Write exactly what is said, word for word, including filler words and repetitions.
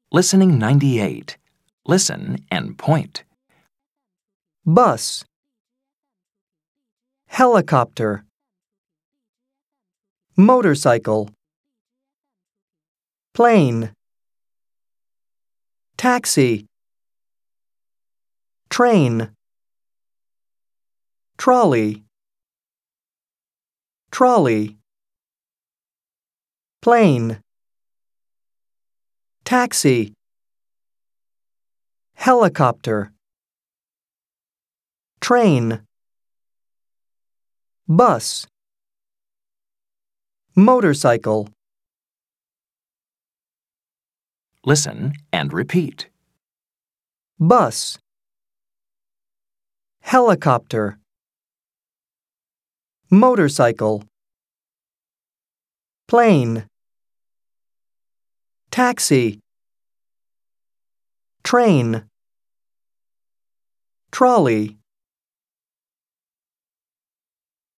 Listening ninety-eight. Listen and point. Bus. Helicopter. Motorcycle. Plane. Taxi. Train. Trolley. Trolley. Plane. Taxi. Helicopter. Train. Bus. Motorcycle. Listen and repeat. Bus. Helicopter. Motorcycle. Plane. Taxi. Train. Trolley.